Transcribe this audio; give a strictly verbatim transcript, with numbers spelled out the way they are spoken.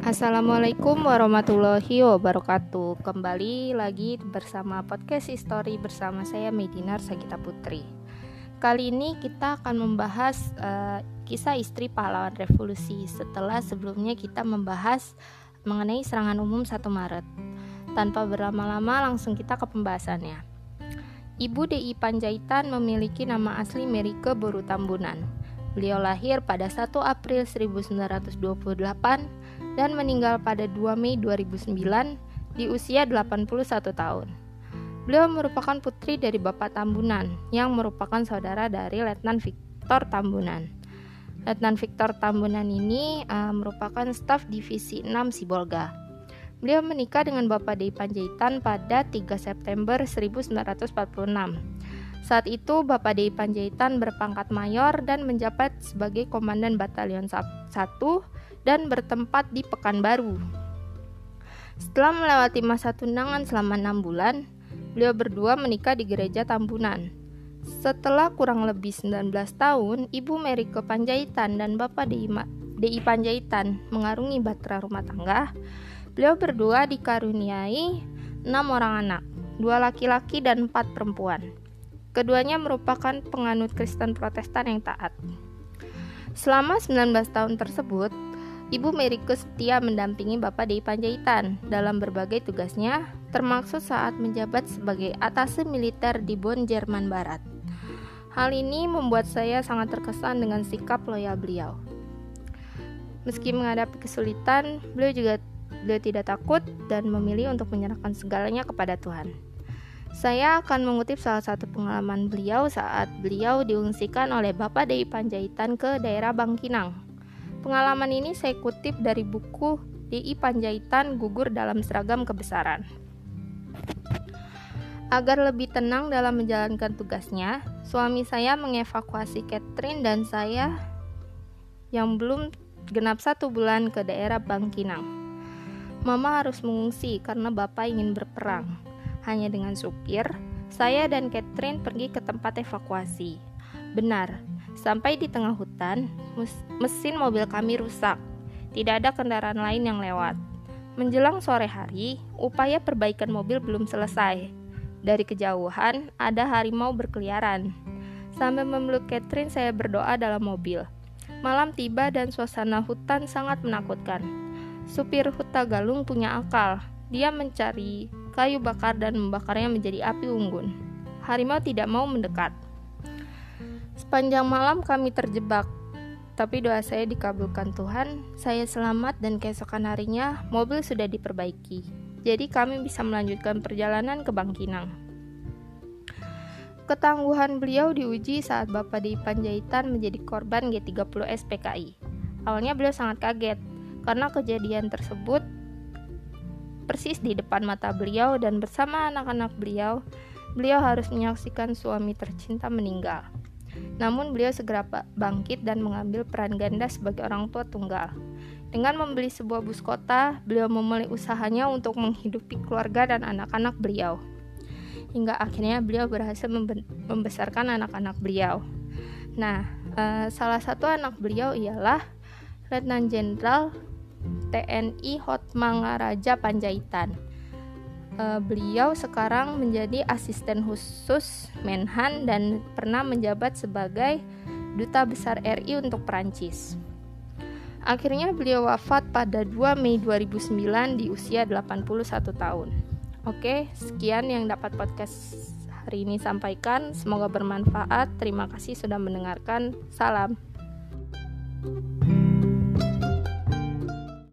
Assalamualaikum warahmatullahi wabarakatuh. Kembali lagi bersama podcast History bersama saya Medinar Sagita Putri. Kali ini kita akan membahas uh, kisah istri pahlawan revolusi setelah sebelumnya kita membahas mengenai serangan umum satu Maret. Tanpa berlama-lama langsung kita ke pembahasannya. Ibu D I Pandjaitan memiliki nama asli Merike Boru Tambunan. Beliau lahir pada satu April seribu sembilan ratus dua puluh delapan dan meninggal pada dua Mei dua ribu sembilan di usia delapan puluh satu tahun. Beliau merupakan putri dari Bapak Tambunan yang merupakan saudara dari Letnan Victor Tambunan. Letnan Victor Tambunan ini uh, merupakan staf divisi enam Sibolga. Beliau menikah dengan Bapak D I Pandjaitan pada tiga September seribu sembilan ratus empat puluh enam. Saat itu Bapak D I Pandjaitan berpangkat mayor dan menjabat sebagai komandan Batalion satu dan bertempat di Pekanbaru. Setelah melewati masa tunangan selama enam bulan, beliau berdua menikah di Gereja Tambunan. Setelah kurang lebih sembilan belas tahun, Ibu Merike Pandjaitan dan Bapak D I Pandjaitan mengarungi bahtera rumah tangga. Beliau berdua dikaruniai enam orang anak, dua laki-laki dan empat perempuan. Keduanya merupakan penganut Kristen Protestan yang taat. Selama sembilan belas tahun tersebut, Ibu Merike setia mendampingi Bapak D I Pandjaitan dalam berbagai tugasnya, termasuk saat menjabat sebagai atase militer di Bonn, Jerman Barat. Hal ini membuat saya sangat terkesan dengan sikap loyal beliau. Meski menghadapi kesulitan, beliau juga beliau tidak takut dan memilih untuk menyerahkan segalanya kepada Tuhan. Saya akan mengutip salah satu pengalaman beliau saat beliau diungsikan oleh Bapak D I Pandjaitan ke daerah Bangkinang. Pengalaman ini saya kutip dari buku D I Pandjaitan Gugur dalam Seragam Kebesaran. Agar lebih tenang dalam menjalankan tugasnya, suami saya mengevakuasi Catherine dan saya yang belum genap satu bulan ke daerah Bangkinang. Mama harus mengungsi karena Bapak ingin berperang. Hanya dengan supir, saya dan Catherine pergi ke tempat evakuasi. Benar, sampai di tengah hutan, mesin mobil kami rusak. Tidak ada kendaraan lain yang lewat. Menjelang sore hari, upaya perbaikan mobil belum selesai. Dari kejauhan, ada harimau berkeliaran. Sambil memeluk Catherine, saya berdoa dalam mobil. Malam tiba dan suasana hutan sangat menakutkan. Supir Huta Galung punya akal. Dia mencari kayu bakar dan membakarnya menjadi api unggun. Harimau tidak mau mendekat. Sepanjang malam kami terjebak, tapi doa saya dikabulkan Tuhan. Saya selamat dan keesokan harinya mobil sudah diperbaiki. Jadi kami bisa melanjutkan perjalanan ke Bangkinang. Ketangguhan beliau diuji saat Bapak D I Pandjaitan menjadi korban G tiga puluh S P K I. Awalnya beliau sangat kaget karena kejadian tersebut persis di depan mata beliau dan bersama anak-anak beliau, beliau harus menyaksikan suami tercinta meninggal. Namun beliau segera bangkit dan mengambil peran ganda sebagai orang tua tunggal. Dengan membeli sebuah bus kota, beliau memulai usahanya untuk menghidupi keluarga dan anak-anak beliau. Hingga akhirnya beliau berhasil membe- membesarkan anak-anak beliau. Nah, eh, salah satu anak beliau ialah Letnan Jenderal T N I Hotmangaraja Pandjaitan. E, beliau sekarang menjadi asisten khusus Menhan dan pernah menjabat sebagai Duta Besar R I untuk Perancis. Akhirnya beliau wafat pada dua Mei dua ribu sembilan di usia delapan puluh satu tahun. Oke, sekian yang dapat podcast hari ini sampaikan. Semoga bermanfaat. Terima kasih sudah mendengarkan. Salam.